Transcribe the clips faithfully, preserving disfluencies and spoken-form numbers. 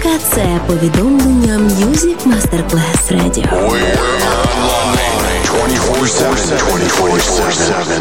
музика – це повідомлення Music Masterclass Radio. We're online twenty-four seven, twenty-four seven.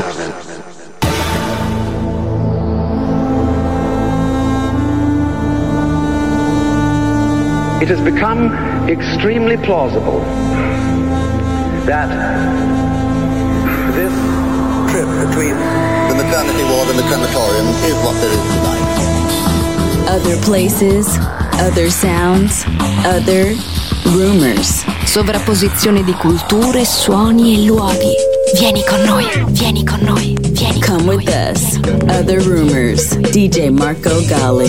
It has become extremely plausible that this trip between the maternity ward and the crematorium is what there is tonight. Other places, other sounds, other rumors. Sovrapposizione di culture, suoni e luoghi. Vieni con noi, vieni con noi, vieni con Come noi. with us. Other rumors. D J Marco Gally.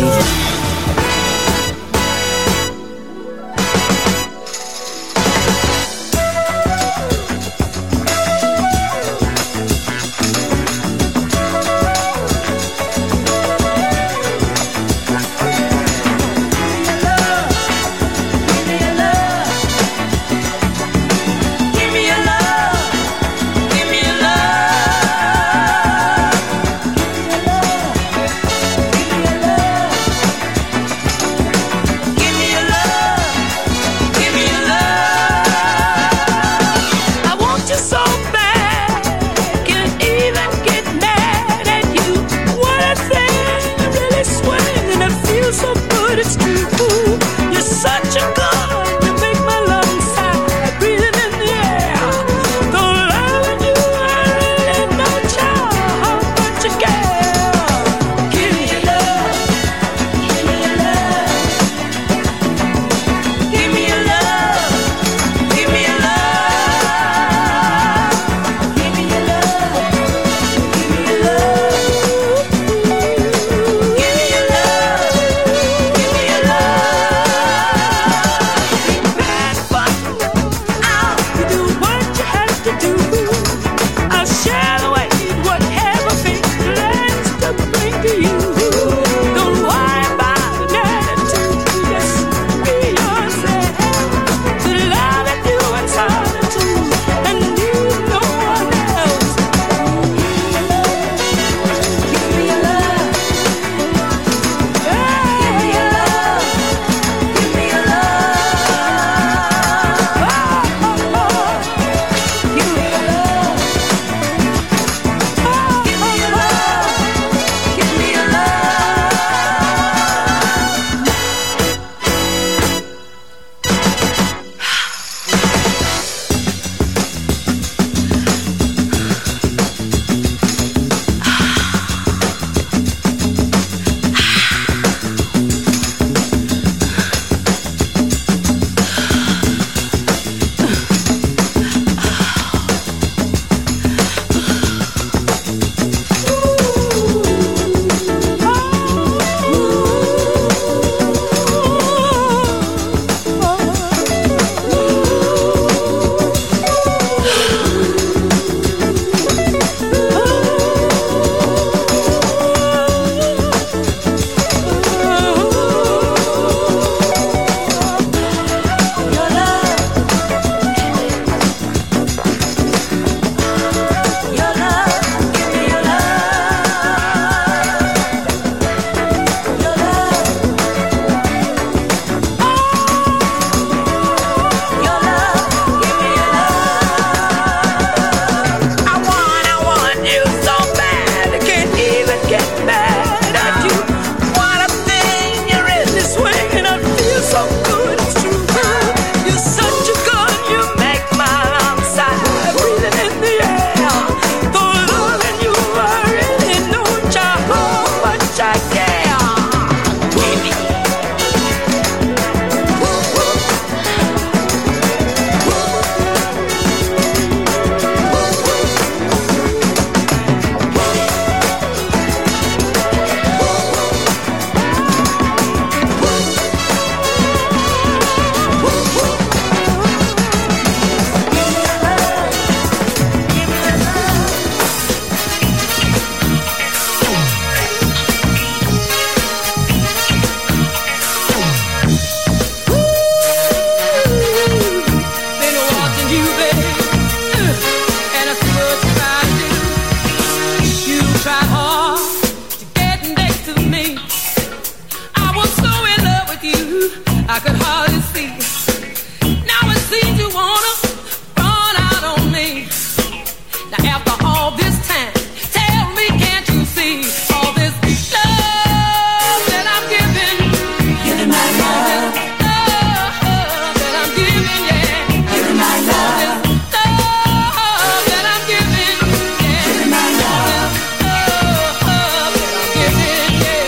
I could hardly see. Now it seems you wanna run out on me. Now after all this time, tell me, can't you see all this love that I'm giving? Giving my love. Love that I'm giving, yeah. Giving my love. Love that I'm giving, yeah. Giving my love. Love that I'm giving, yeah.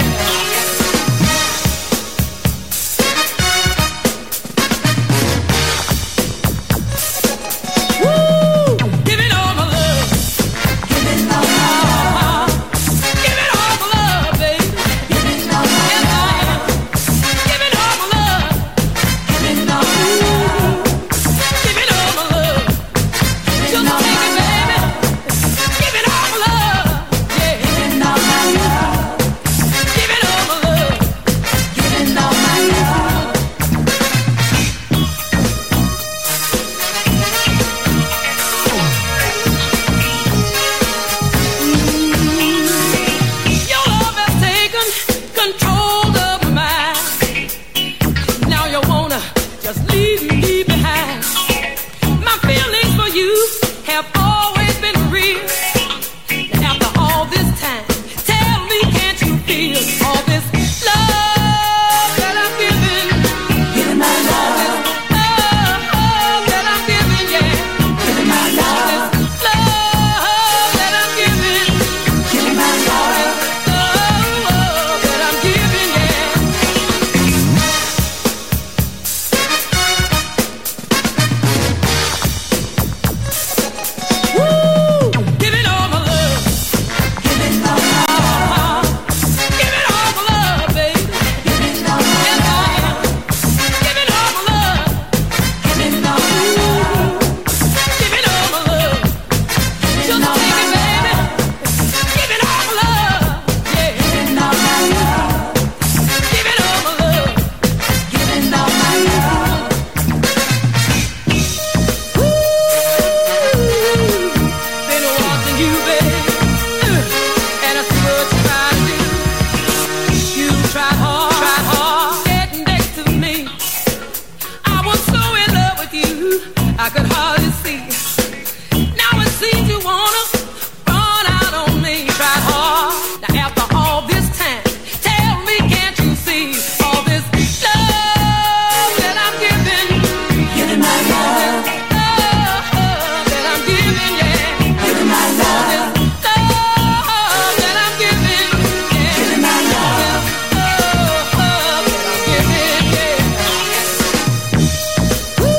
Woo! Giving all my love. Giving all my love. Giving all my love, baby. Giving all my love. Giving all my love. Giving all my love. Giving all my love. Just take it, baby. Giving all my love. Yeah. Giving all my love. Giving all my love. Giving all my love. Your love has taken control of my mind. Now you wanna just leave me behind. My feelings for you have always been real. After all this time, tell me, can't you feel all this love that I'm giving? Giving my love. Love that I'm giving, yeah. Giving my love. Love that I'm giving. Giving my love. Love that I'm giving, yeah. Woo! Giving all my love. Giving all my love. Giving all my love, baby. Giving all my love. Giving all my love. Giving all my love. Giving all my love. Just take it, baby. Giving all my love. Yeah. Giving all my love. Giving all my love. Giving all my love. Woo! Been watching you, baby, and I see what you try to do. You tried hard, tried hard, getting next to me. I was so in love with you, I could hardly see. Now it seems you wanna run out on me. Tried hard. Now after all this time, tell me, can't you see all this love that I'm giving? Giving my love. Love that I'm giving, yeah. Giving my love. Love that I'm giving, yeah. Giving my love. Love that I'm giving, yeah. Woo!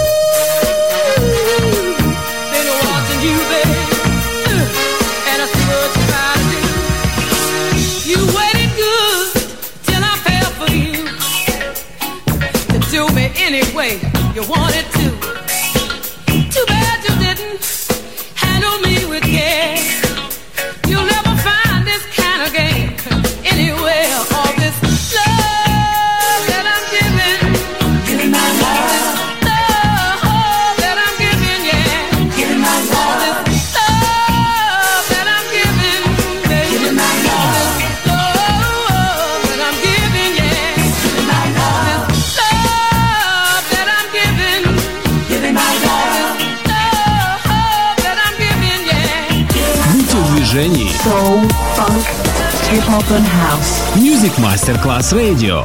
Been watching you, baby, and I see what you try to do. You waited good till I fell for you, to do me any way you wanted to. Too bad you didn't handle me with care. You'll never find this kind of game anywhere. All this love that I'm giving. Giving my love. Love that I'm giving, yeah. Giving my love. Love that I'm giving, baby. Giving my love. Love that I'm giving, yeah. Giving my love. Love that I'm giving. Giving my love. Love that I'm giving, yeah. Будьте в движении. Soul, funk, hip-hop and house. Music Masterclass Radio.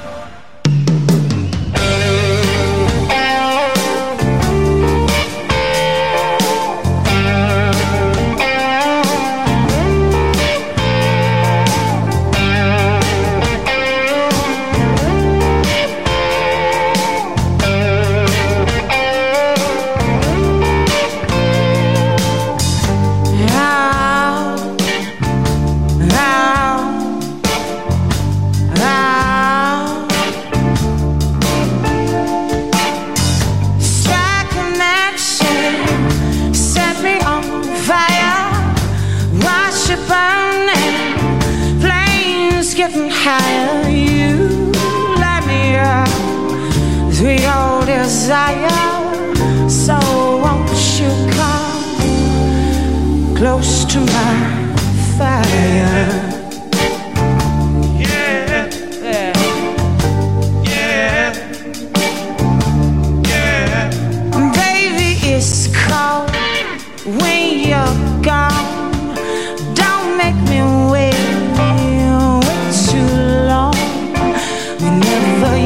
Getting higher, you light me up, sweet old desire. So won't you come close to my fire? Yeah, yeah, yeah.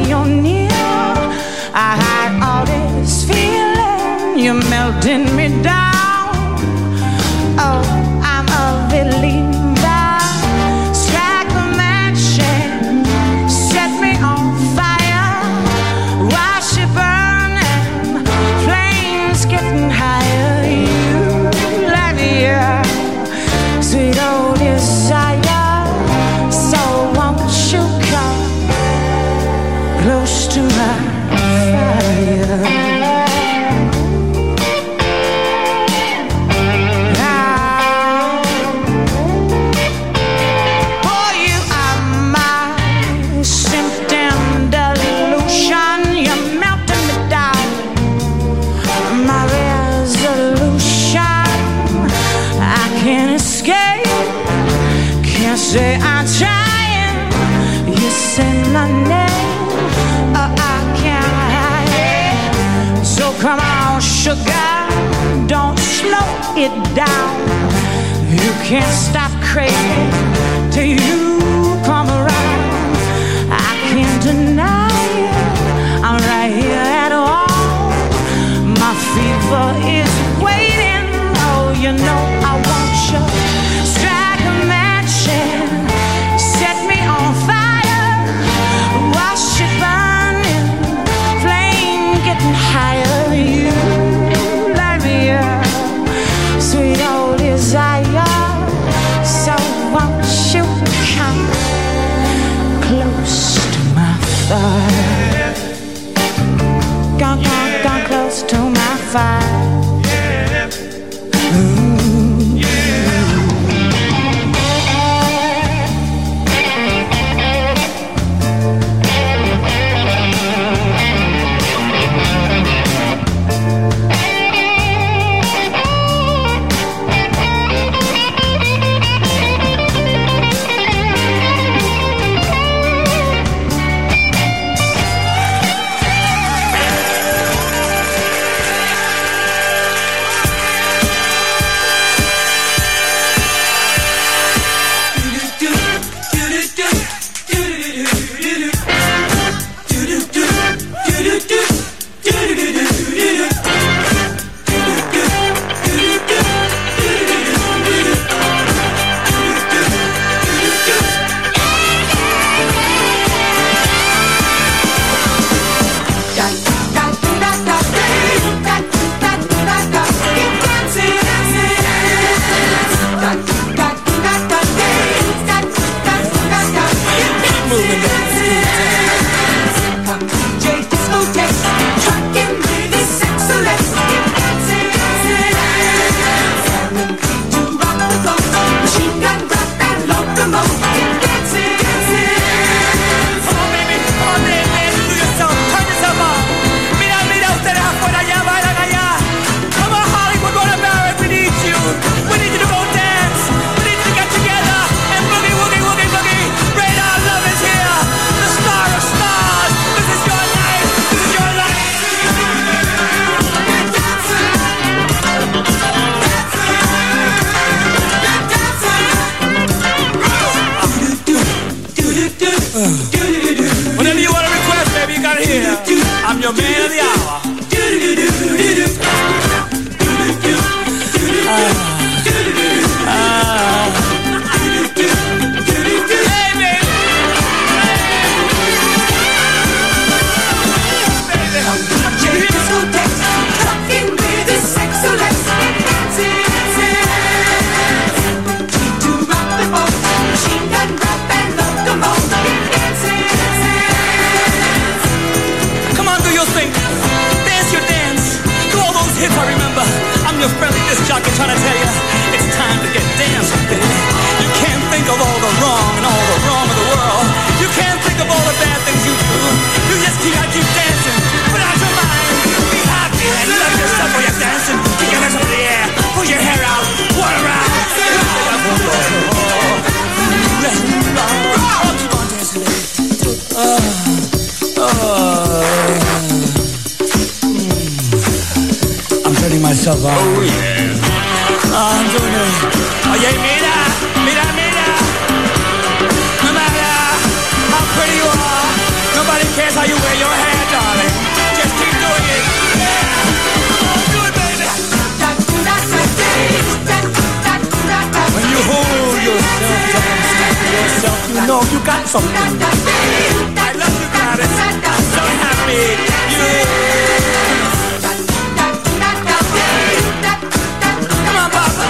you're near. I hide all this feeling, you're melting me down. Oh, I'm a believer. Strike a match and set me on fire. Watch it burning, flames getting higher. You light me up, sweet old desire. So won't you come close to my fire? Say I'm trying, you say my name, oh, I can't hide it. So come on, sugar, don't slow it down. You can't stop craving till you come around. I can't deny it, I'm right here at all. My fever is waiting, oh, you know I want you. Strike a match and set me on fire. Watch it burning, flame getting higher. You light me up, sweet old desire. So won't you come close to my fire? Come, come, come close to my fire. Whatever you want to request, baby, you got it here. I'm your man of the hour. Ah. Ah. Your friendly disc jockey trying to tell you it's time to get dancing, baby. You can't think of all the wrong and all the wrong of the world. You can't think of all the bad things you do. You just keep, gotta keep dancing, put out your mind, be happy and love yourself while you're dancing. Keep your hands up in the air, pull your hair out, whirl around. Oh, keep on dancing, lady. Oh, oh. Myself out. Oh yeah. Oh, I'm doing it. Oye, mira, mira, mira. No matter how pretty you are, nobody cares how you something. I love you, Gladys. I'm so happy. You. Come on, Papa.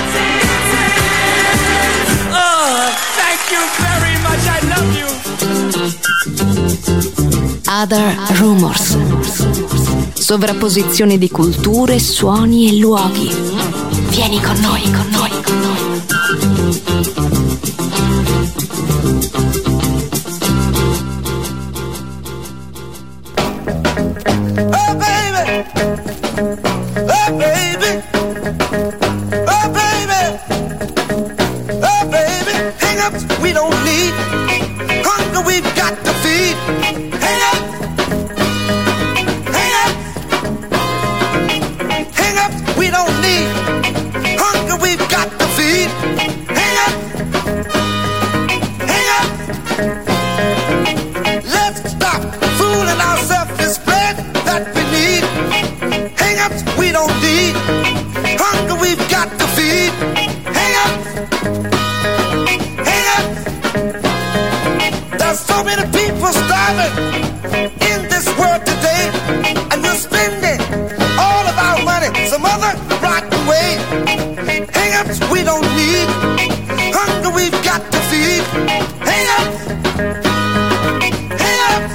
Oh, thank you very much. I love you. Other Rumors. Sovrapposizione di culture, suoni e luoghi. Vieni con noi, con noi, con noi. Oh baby, oh baby, oh baby, oh baby. Hang ups we don't need, hunger we've got to feed. Hang up, hang up, hang ups we don't need, hunger we've got to feed. Hang up, hang up. Let's stop fooling ourselves. This bread that we need. Hang-ups we don't need. Hunger we've got to feed. Hang-ups, hang-ups. There's so many people starving in this world today, and we're spending all of our money some other rotten way. Hang-ups we don't need. Hunger we've got to feed. Hang-ups, hang-ups.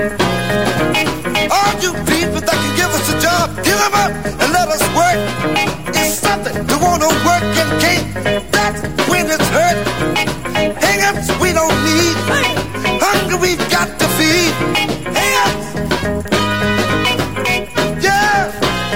All you people that can give us a job, give them up and let us work. It's something to want to work and can't. That's when it's hurt. Hang-ups we don't need. Hunger we've got to feed. Hang-ups. Yeah.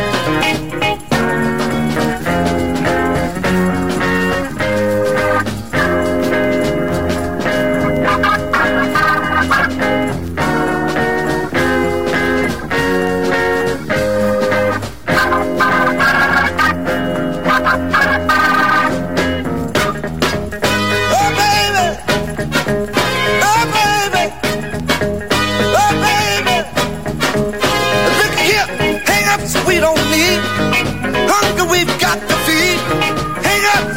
We don't need hunger we've got to feed. Hang up,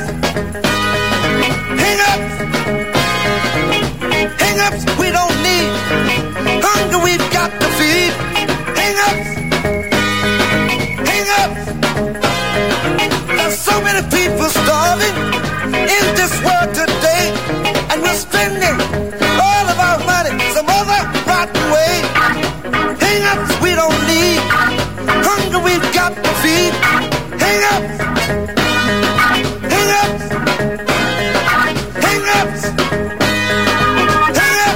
hang up, hang ups we don't need. Hunger we've got to feed. Hang up, hang up. There's so many people starving in this world today, and we're spending all of our money some other rotten way. Hang ups we don't need. Hunger we've got to feed. Hang up, hang up, hang up, hang up,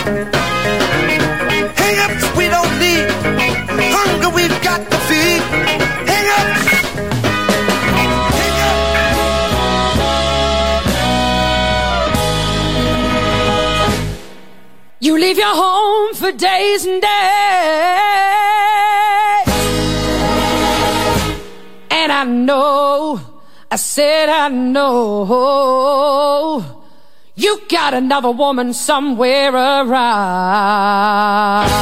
hang ups we don't need. Hunger we've got to feed. Hang up, hang up. You leave your home for days and days, and I know, I said I know, you got another woman somewhere around.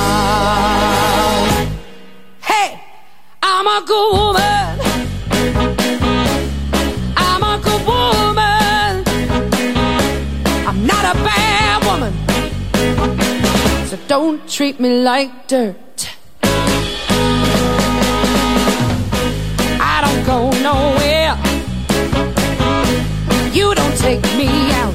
Hey, I'm a good woman, I'm a good woman, I'm not a bad woman, so don't treat me like dirt. I don't go nowhere, you don't take me out.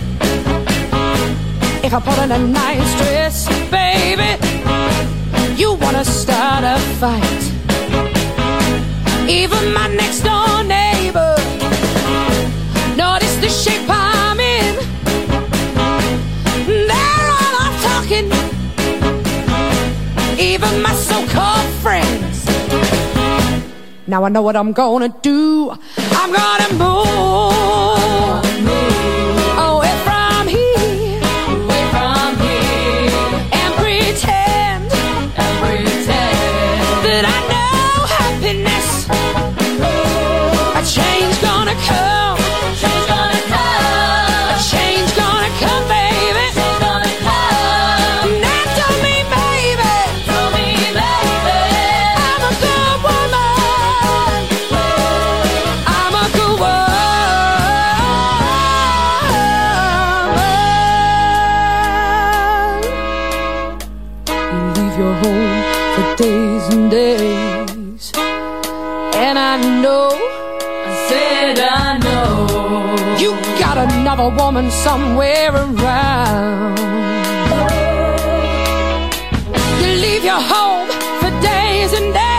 If I put on a nice dress, baby, you wanna start a fight. Even my next door neighbor noticed the shape I'm in. They're all off talking, even my so-called friends. Now I know what I'm gonna do. I'm gonna move, move away from here, away from here, and pretend, and pretend that I know happiness. A change gonna come, change gonna come, a change gonna come, baby. Change gonna come. Now tell me, baby, tell me, baby, I'm a good woman. I'm a good woman. home for days and days. And I know, I said I know, you got another woman somewhere around. You leave your home for days and days.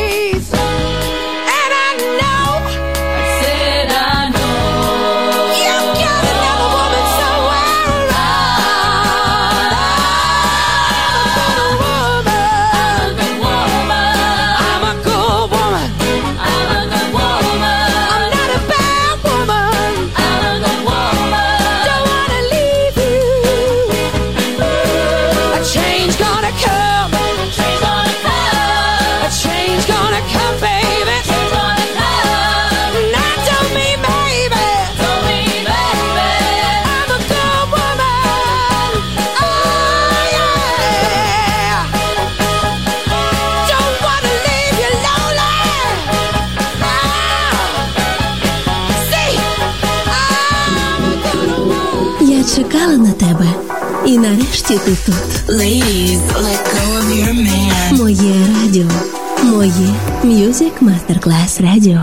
Чекала на тебе, і нарешті ти тут. Ladies, let go of your man. Моє радіо, моє Music Masterclass Radio.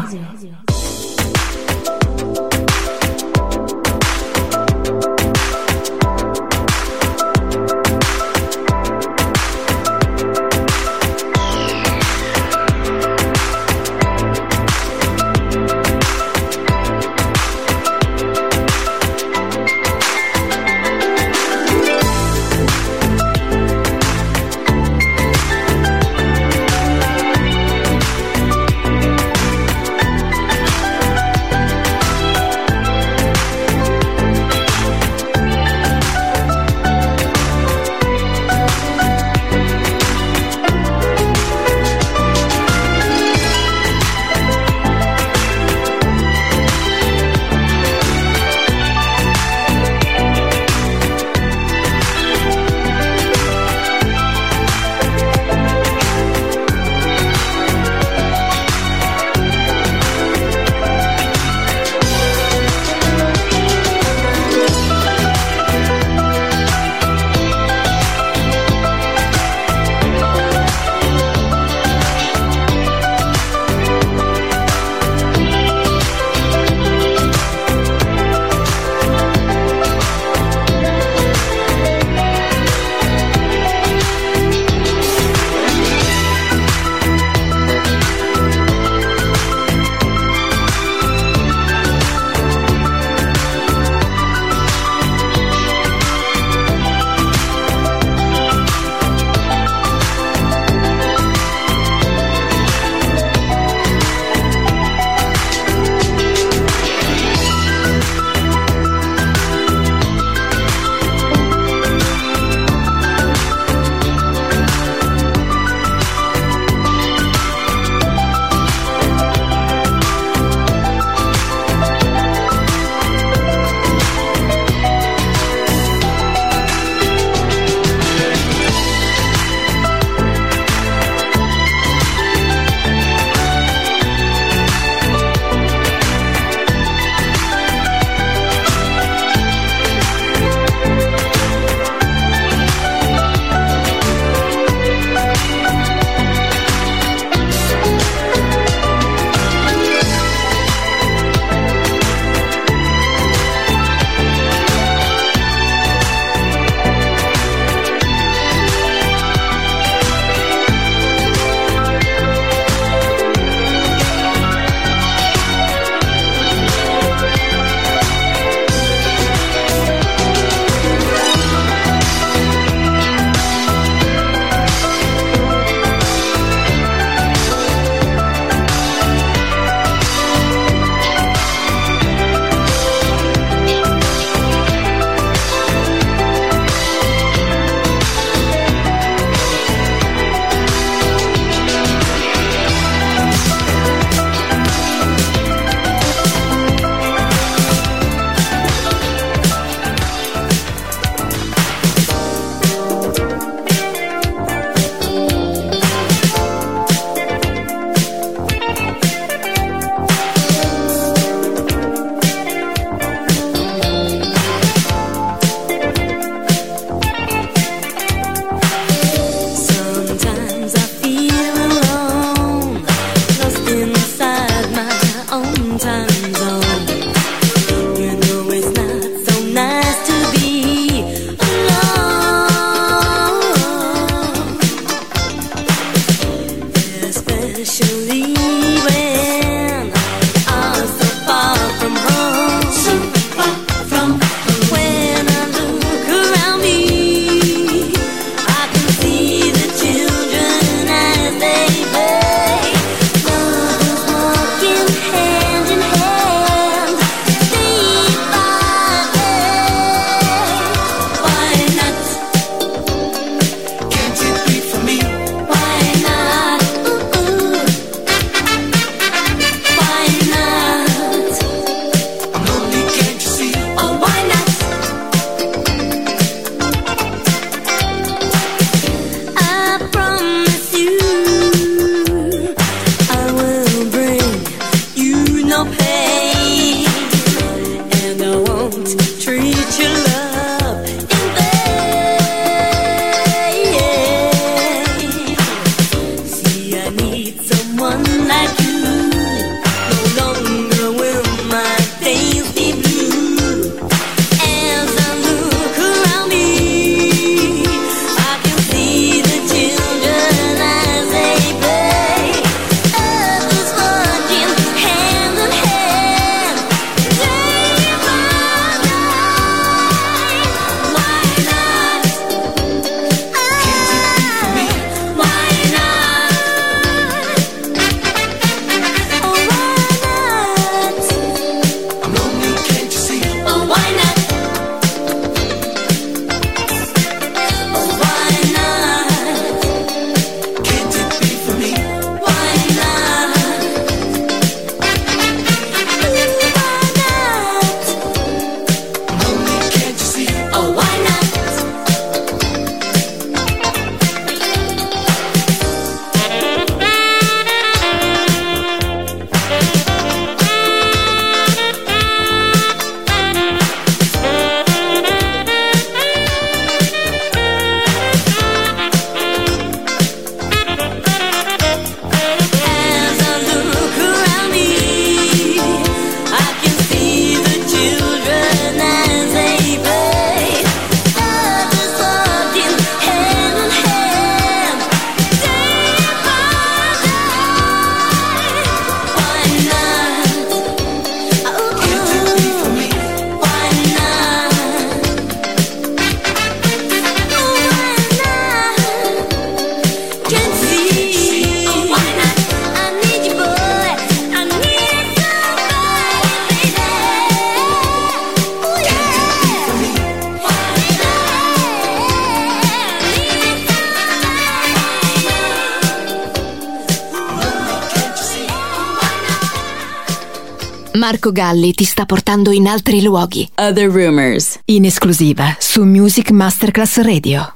Marco Galli ti sta portando in altri luoghi. Other Rumors. In esclusiva su Music Masterclass Radio.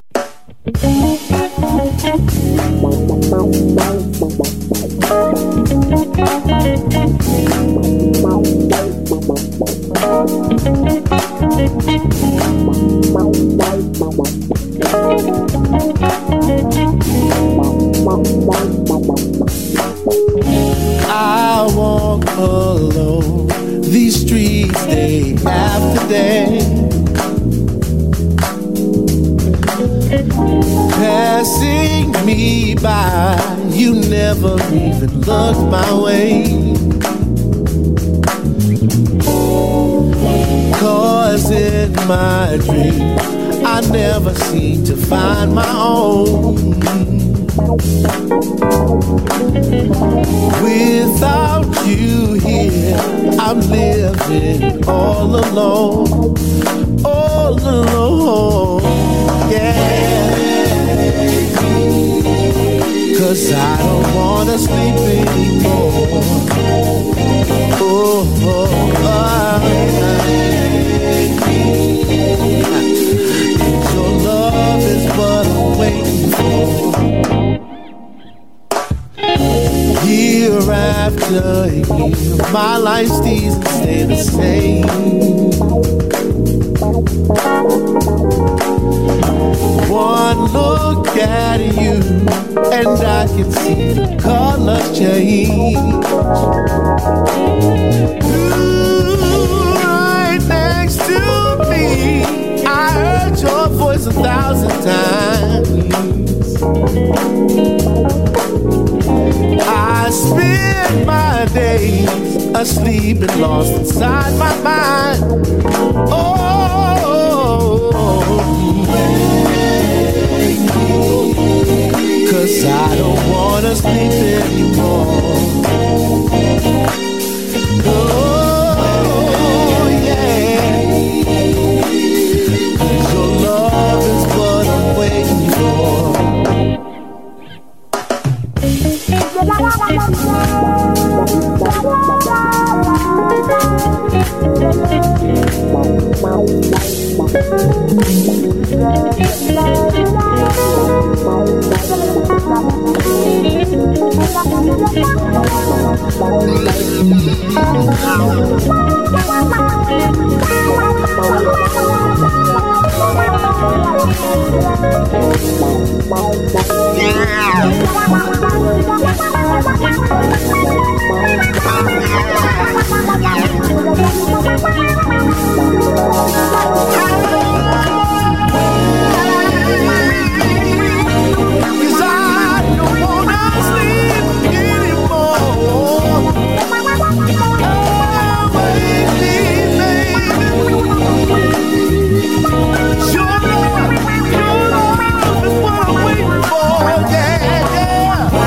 I walk alone these streets day after day, passing me by, you never even looked my way. Cause in my dream I never seem to find my own. Without you here, I'm living all alone, all alone, yeah. Cause I don't wanna sleep anymore. Oh, oh, oh. Your love is what I'm waiting for. Year after year, my life stays and stay the same. One look at you, and I can see the colors change. Ooh, right next to me, I heard your voice a thousand times. I spend my days asleep and lost inside my mind. Oh, cause I don't wanna sleep anymore. Oh, yeah. Cause your love is what I'm waiting for. Your love, your love is what I'm waiting for, yeah, yeah.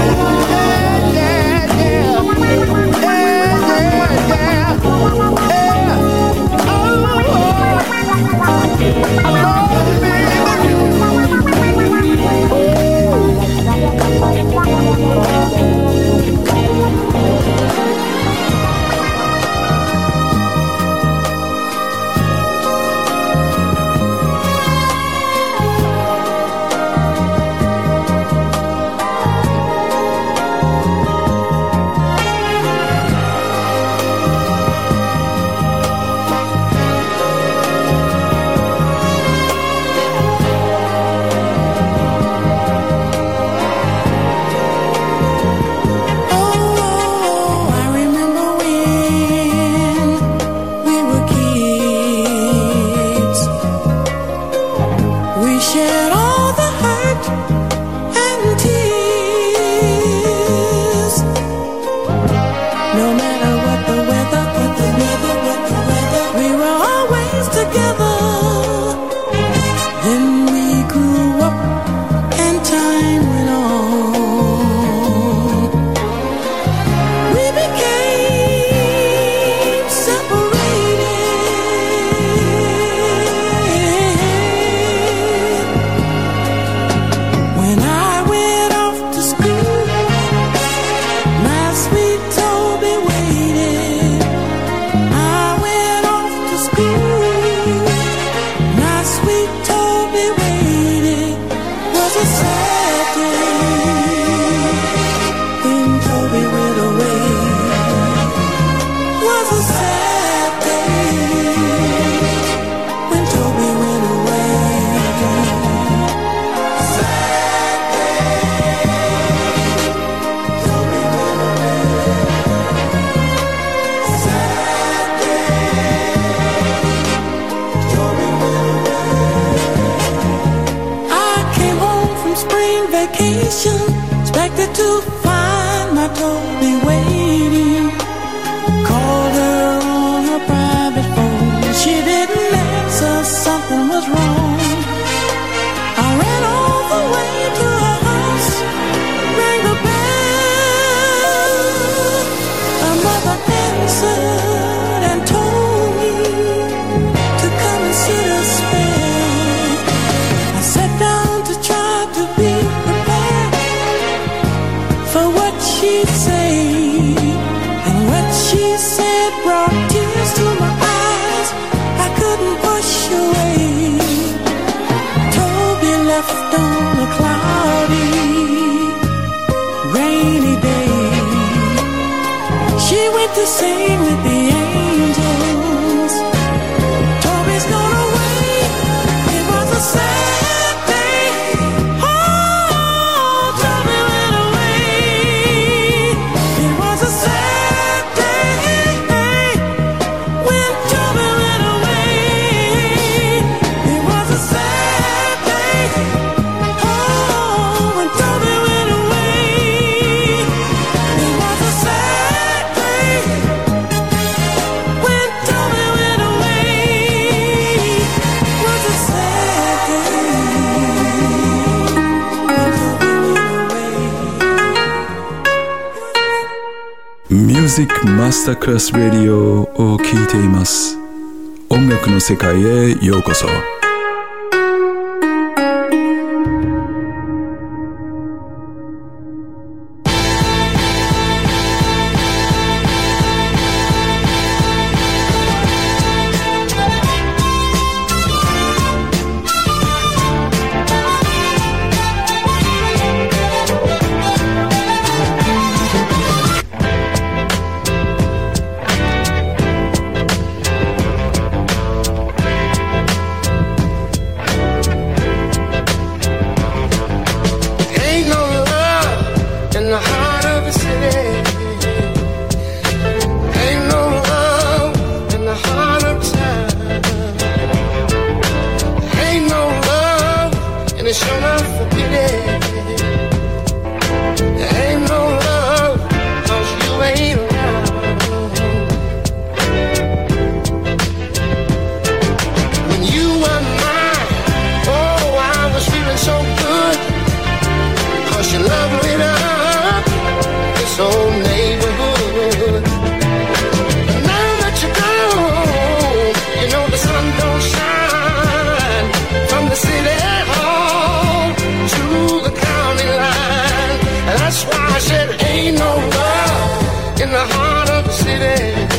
for what she'd say, and what she said brought tears to my eyes I couldn't push away. Toby left on a cloudy, rainy day. She went to sing with the angels. Toby's gone away. It was a sad day. Oh, Toby went away. It was a sad day when Toby went away. It was a sad day. Oh, when Toby went away. It was a sad day when Toby went away. It was a sad day when Toby went away. Music Masterclass Radio を聴いています。音楽の世界へようこそ。 Ain't no love in the heart of the city. Ain't no love in the heart of town. Ain't no love and it's sure not for pity. Ain't no love 'cause you ain't around. When you were mine, oh, I was feeling so good. 'Cause your love lit up this whole neighborhood. But now that you're gone, you know the sun don't shine from the city hall to the county line. And that's why I said ain't no love in the heart of the city.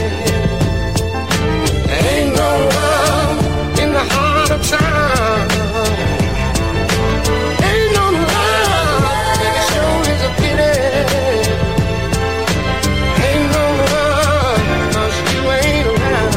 Ain't no love in the heart of town. Ain't no love, and it sure is a pity. Ain't no love 'cause you ain't around.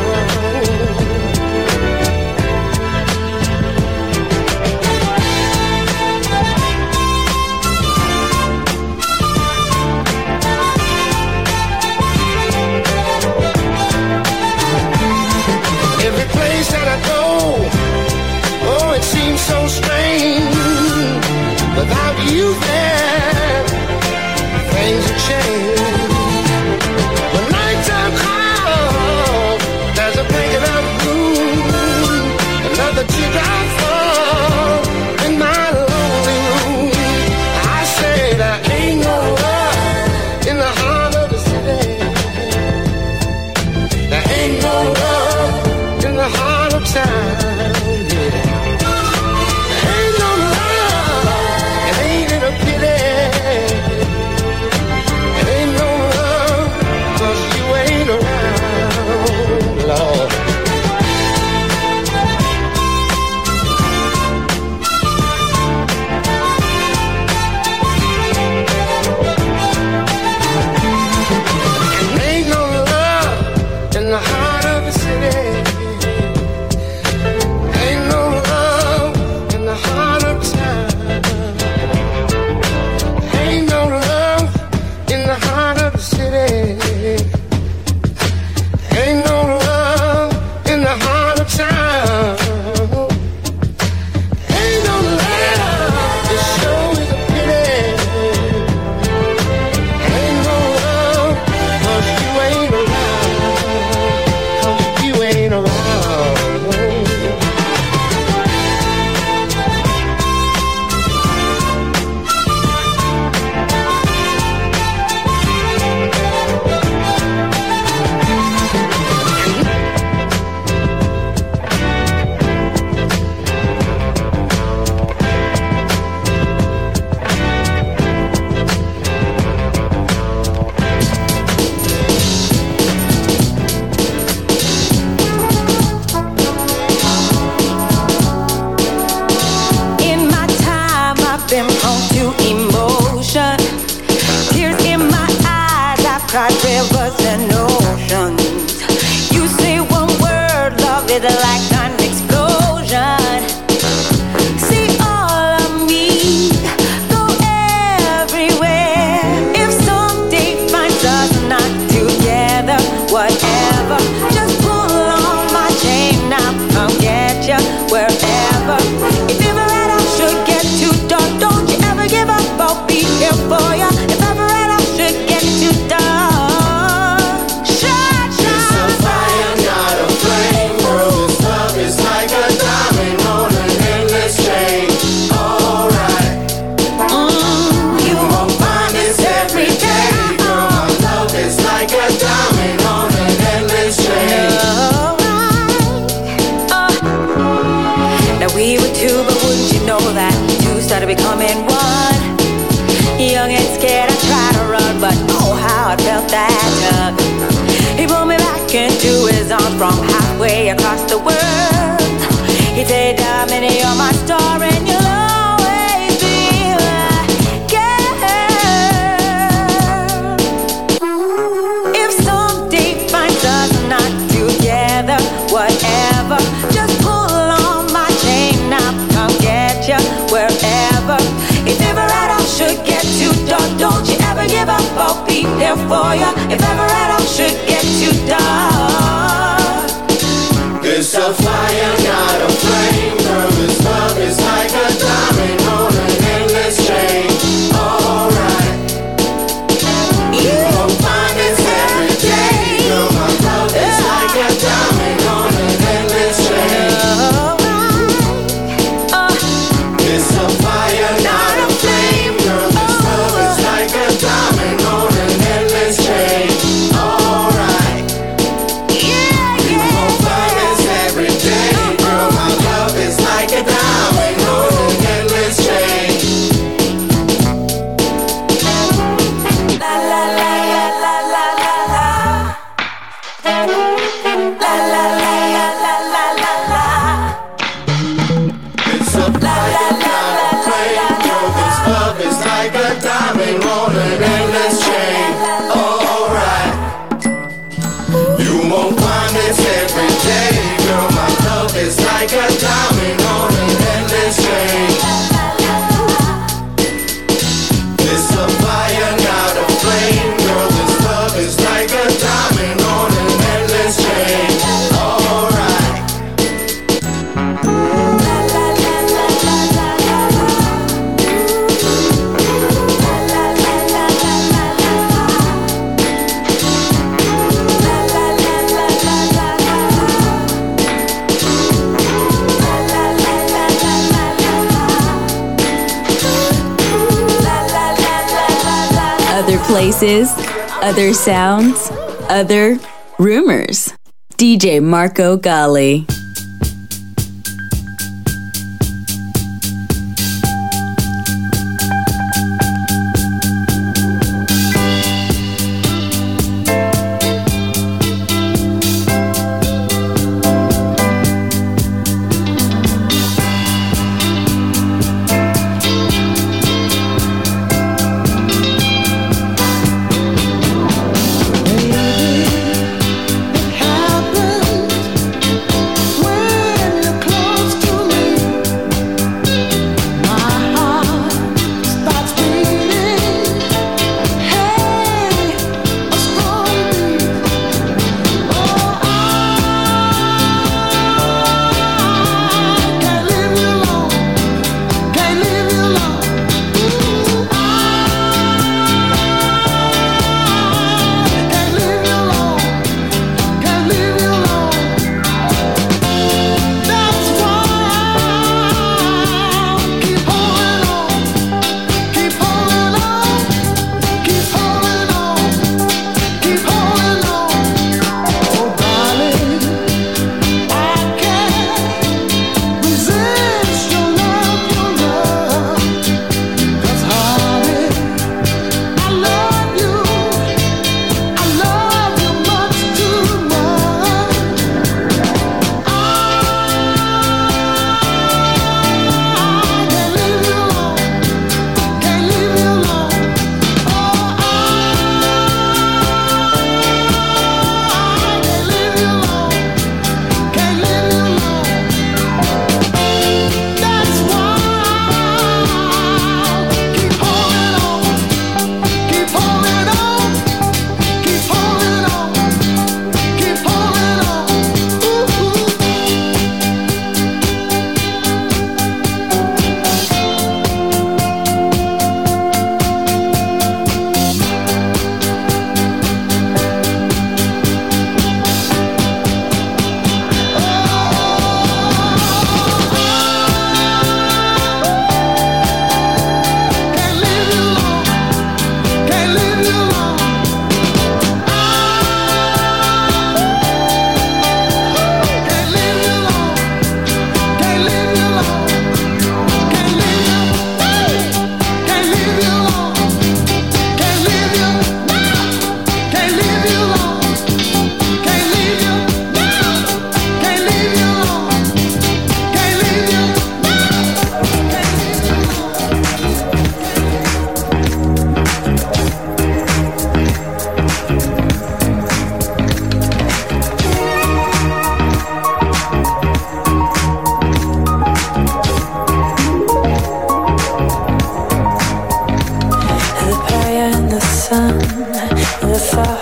Every place that I go, oh, it seems so strange. Without you there, things have changed. When nighttime comes, there's a blanket of gloom. Another teardrop falls in my lonely room. I say there ain't no love in the heart of the city. There ain't no love in the heart of town. Yeah. Ain't no love, and ain't it a pity? Ain't no love 'cause you ain't around, Lord. And ain't no love in the heart of the city. cried rivers and oceans. You say one word, love is like an explosion. See all of me, go everywhere. If someday finds us not together, whatever, just pull on my chain now, come get ya wherever. If ever and I should get too dark, don't you ever give up, I'll be here for ya. If ever and I should get too dark, shine, shine, it's a fire, not a flame, girl. This love is like a diamond on an endless chain. Alright, mm, you won't find this every day, girl. My love is like a diamond on an endless chain. Alright, uh, now we were two, but wouldn't you know that two started becoming one? Young and scared, I tried to run, but oh how I felt that tug. He pulled me back into his arms from halfway across the world. He said, Diamond, you're my star and you'll always be my girl. If someday finds us not together, whatever, just pull on my chain now, come get ya wherever. If ever and I should get too dark, don't you ever give up, I'll be there for ya. If ever and I should get too dark, it's a fire, not a flame, girl. This love is like a diamond on an endless chain. Alright, you won't find this every day, girl. My love is like a diamond on an endless chain. Alright, uh, it's a fire, not a flame, girl. This love is like a diamond on an endless chain. Alright, yeah, yeah, you won't find this every day, girl. My love is like a diamond on an endless chain. La la la la la la la. La la la la la la la la. It's a fire, not a flame, girl. This love is like a diamond on an endless chain. Alright, you won't find this every day, girl. My love is like a diamond on an endless chain. It's a fire, not a flame, girl. This love is like a diamond on an endless chain. Alright. Other places, other sounds, other rumors. D J Marco Gally. Happened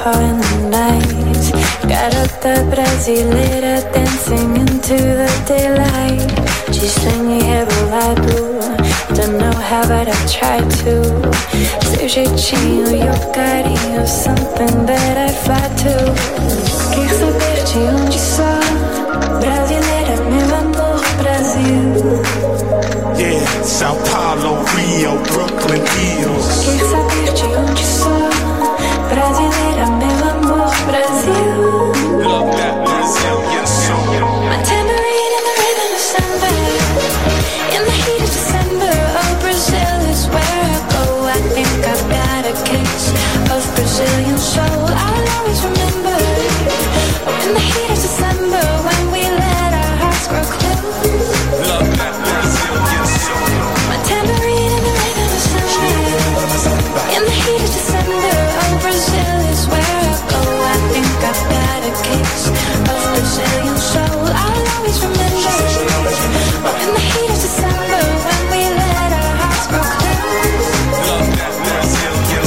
car in the night. Got up the brasileira dancing into the daylight. She's swinging hair bolado, don't know how but I've tried to. Seu jeitinho e o carinho, something that I'd fly to. Quer saber de onde sou? Brasileira, meu amor, Brasil. Yeah, Sao Paulo, Rio, Brooklyn, Hills. Quer saber de onde sou? Brasileira, meu amor, Brasil. Love that Brazilian soul. My tambourine in the rhythm of samba. In the heat of December, oh, Brazil is where I go. I think I've got a case of Brazilian soul. I'll always remember. Oh, in the heat of December, when we let our hearts grow close. Love that Brazilian soul. My tambourine in the rhythm of samba. In the heat of December, oh, Brazil is where I go. I think I've got a case of Brazilian soul. I'll always remember. Oh, in the heat of December, when we let our hearts grow close. Love that Brazilian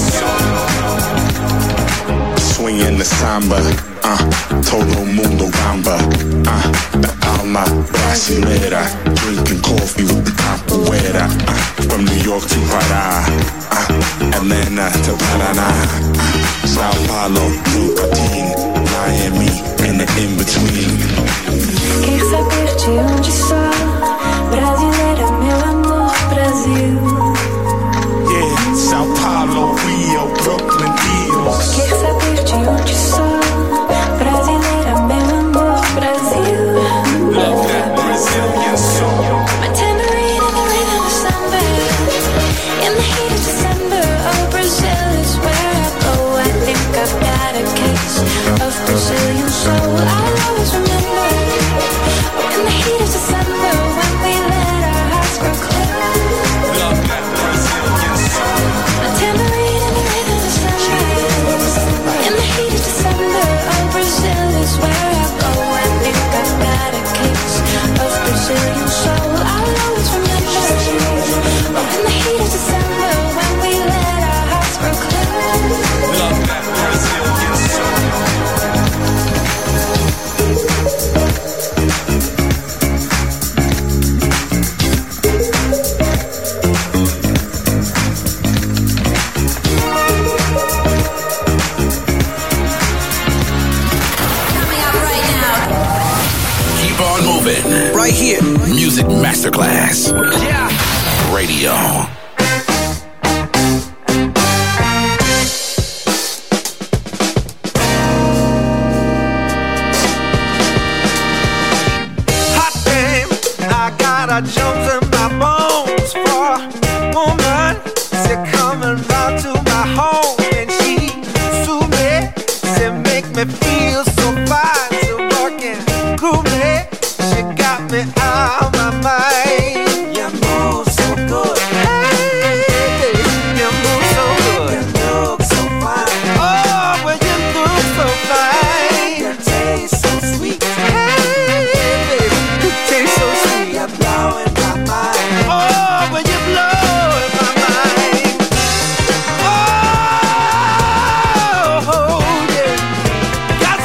soul. Swinging the samba, uh, todo mundo gamba, uh, the alma brasileira, drinking coffee with the capoeira, uh, from New York to Pará, uh, Atlanta to Paraná, uh, Sao Paulo, Brooklyn, Miami, and the in-between. Quer saber de onde sou? Brasileira, meu amor, Brasil. Yeah, Sao Paulo, Rio, Brooklyn, Hills. Quer saber de onde sou? Brasileira, meu amor, Brasil. Love that Brazilian soul. My tambourine in the rhythm of samba. In the heat of December, oh, Brazil is where I go. I think I've got a case of Brazilian soul. I'll always remember. Oh, in the heat of December, when we let our hearts grow close. Love that Brazilian soul. My tambourine in the rhythm of samba. In the heat of December, oh, Brazil is where I go. I think I've got a case of Brazilian soul. I'll always remember. Oh, in the heat of December, when we let our hearts grow close. Love that Brazilian soul. Keep on moving. Right here. Music Masterclass. Yeah. Radio. Hot damn, I got a Jones in my bones for a woman. She coming round to my home and she sue me. She make me feel so fine, so working groovy. She got me out of my mind. You move so good. Hey, you move so good. You look so fine. Oh, well, you look so fine. You taste so sweet. Hey, baby, you taste so sweet. You're blowing my mind. Oh, well, you're blowing my mind. Oh, yeah. Got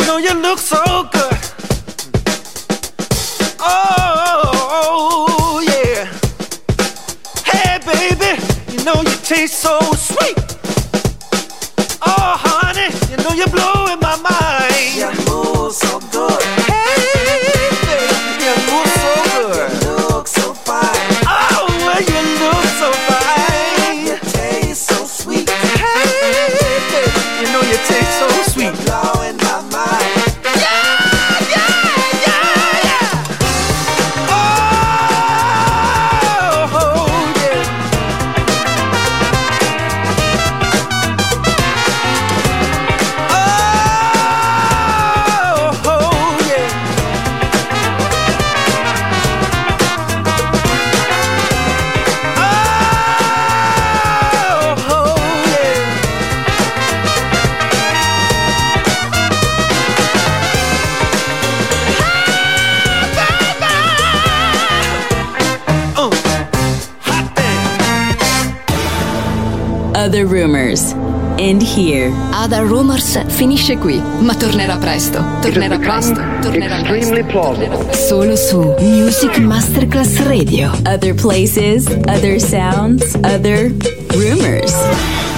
know you look so good. Oh, yeah. Hey, baby, you know you taste so sweet. Oh, honey, you know you're blowing my mind. You move so good. Hey, baby, you move so good. You look so fine. Oh, well, you look so fine. You taste so sweet. Hey, baby, you know you taste so sweet. You're blowing my mind. Other Rumors. End here. Other Rumors finisce qui, ma tornerà presto. Tornerà presto. Tornerà extremely plausible. Solo su Music Masterclass Radio. Other places, other sounds, other rumors.